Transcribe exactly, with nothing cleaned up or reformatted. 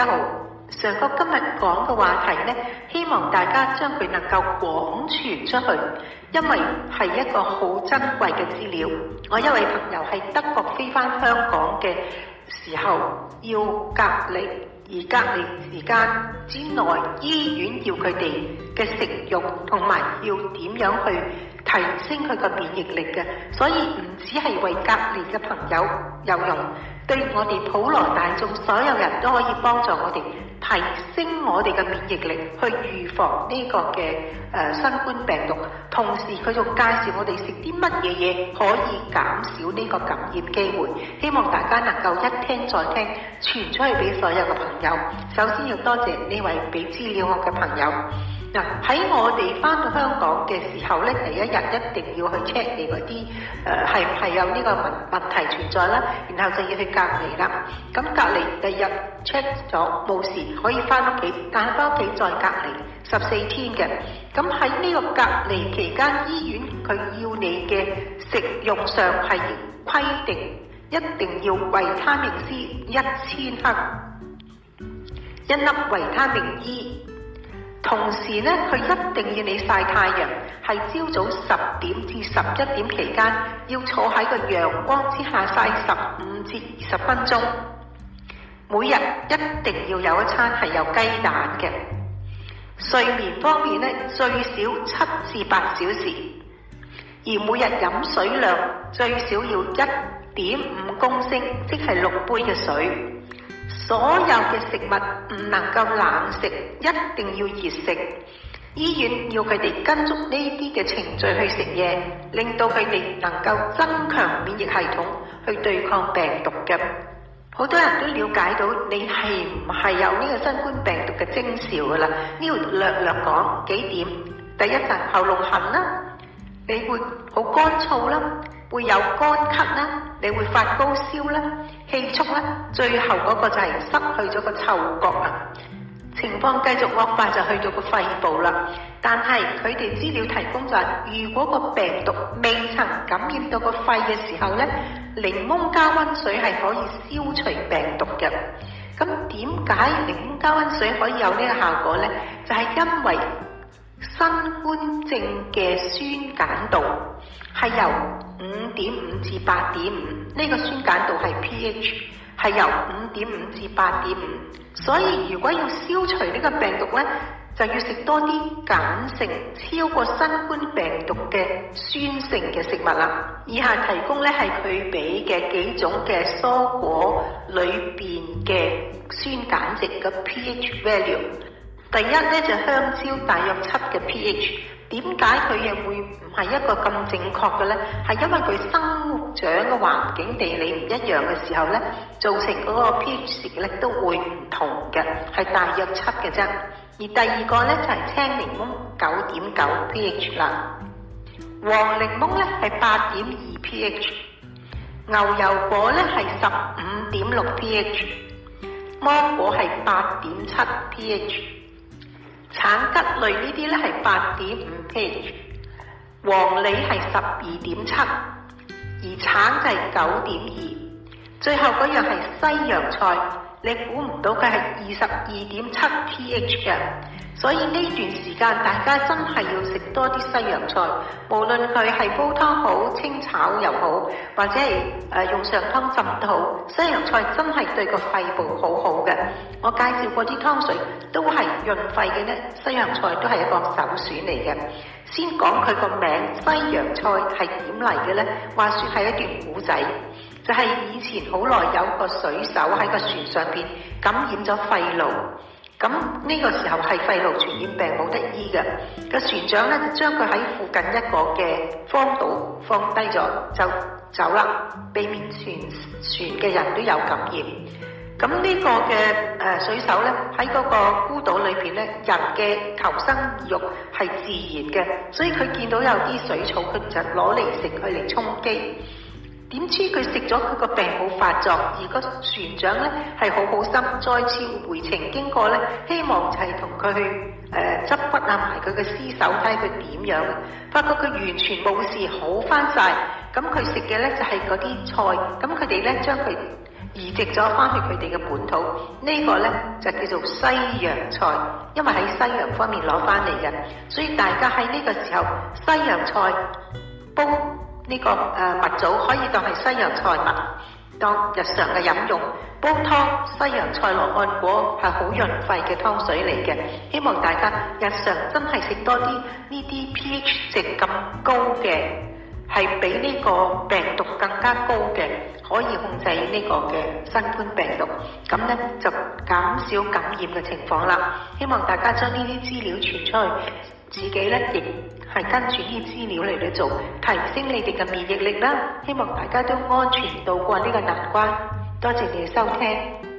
家好，上哥今日講嘅話題呢，希望大家將佢能夠廣傳出去，因為係一個好珍貴嘅資料。我一位朋友喺德國飛返香港嘅時候要隔離，而隔離時間之內，醫院要佢哋嘅食慾同埋要點樣去提升佢個免疫力嘅，所以唔只係為隔離嘅朋友有用，對我哋普羅大眾所有人都可以幫助我哋提升我哋嘅免疫力，去預防呢個嘅誒、呃、新冠病毒。同時佢仲介紹我哋食啲乜嘢嘢可以減少呢個感染機會。希望大家能夠一聽再聽，傳出去俾所有嘅朋友。首先要多謝呢位俾資料我嘅朋友。嗱，喺我哋翻到香港嘅時候咧，第一日一定要去 check 你嗰啲誒係唔係有呢個問問題存在啦，然後就要去隔離啦。咁隔離第日 check 咗冇事，可以翻屋企，但係翻屋企再隔離十四天嘅。咁喺呢個隔離期間，醫院佢要你嘅食用上係規定，一定要維他命 C 一千克，一粒維他命 E。同時咧，佢一定要你曬太陽，係朝早十點至十一點期間，要坐喺個陽光之下曬十五至二十分鐘。每日一定要有一餐係有雞蛋嘅。睡眠方面咧，最少七至八小時，而每日飲水量最少要一點五公升，即係六杯嘅水。所有嘅食物唔能夠冷食，一定要熱食。醫院要佢哋跟足呢啲嘅程序去食嘢，令到佢哋能夠增強免疫系統去對抗病毒嘅。好多人都了解到你係唔係有呢個新冠病毒嘅徵兆噶啦，呢度略略講幾點。第一就係喉嚨痕啦，你會好乾燥啦，會有乾咳啦，你會發高燒啦，氣促啦，最後嗰個就係失去咗個嗅覺啊。情況繼續惡化就去到個肺部啦。但係佢哋資料提供就係，如果個病毒未曾感染到個肺嘅時候呢，檸檬加溫水係可以消除病毒嘅。咁點解檸檬加溫水可以有呢個效果呢？就係因為新冠症嘅酸鹼度係由五點五至八點五，呢個酸鹼度係 pH 係由五點五至八點五，所以如果要消除呢個病毒呢，就要食多啲鹼性超過新冠病毒嘅酸性嘅食物啦。以下提供呢係佢俾嘅幾種嘅蔬果裏邊嘅酸鹼值嘅 pH value。第一咧就香蕉大約七嘅 pH， 點解佢又會唔係一個咁正確嘅呢？係因為佢生長嘅環境地理唔一樣嘅時候呢，造成嗰個 pH 值咧都會唔同嘅，係大約七嘅啫。而第二個呢，就係、是、青檸檬九點九 pH 啦，黃檸檬呢係八點二 pH， 牛油果呢係十五點六 pH， 芒果係八點七 pH。橙桔類呢啲咧係八點五 pH， 黃梨係十二點七，而橙就係九點二。最後嗰樣係西洋菜，你估唔到佢係二十二點七 pH 嘅。所以呢段時間大家真係要食多啲西洋菜，無論佢係煲湯好、清炒又好，或者係誒、呃、用上湯浸都好，西洋菜真係對個肺部好好嘅。我介紹過啲湯水都係潤肺嘅呢，西洋菜都係一個首選嚟嘅。先講佢個名，西洋菜係點嚟嘅呢？話說係一段古仔，就係、是、以前好耐有個水手喺個船上邊感染咗肺癆。咁呢個時候係肺癆傳染病冇得醫嘅，個船長咧就將佢喺附近一個嘅荒島放低咗就走啦，避免全船嘅人都有感染。咁呢個嘅誒、呃、水手咧喺嗰個孤島裏邊咧，人嘅求生意欲係自然嘅，所以佢見到有啲水草，佢就攞嚟食，佢嚟充飢。點知佢食咗佢個病冇發作，而個船長咧係好好心，再次回程經過咧，希望就係同佢去誒執骨啊埋佢嘅屍首睇佢點樣，發覺佢完全冇事，好翻晒。咁佢食嘅咧就係嗰啲菜，咁佢哋咧將佢移植咗翻去佢哋嘅本土，呢、這個呢，就叫做西洋菜，因為喺西洋方面攞翻嚟嘅，所以大家喺呢個時候西洋菜煲呢、這個誒、呃、蜜棗可以當係西洋菜蜜，當日常嘅飲用。煲湯西洋菜落按果係好潤肺嘅湯水嚟嘅，希望大家日常真係食多啲呢啲 pH 值咁高嘅，係比呢個病毒更加高嘅，可以控制呢個嘅新冠病毒，咁呢就減少感染嘅情況啦。希望大家將呢啲資料傳出去，自己呢亦係跟住呢啲資料嚟去做，提升你哋嘅免疫力啦。希望大家都安全渡過呢個難關。多謝你嘅收聽。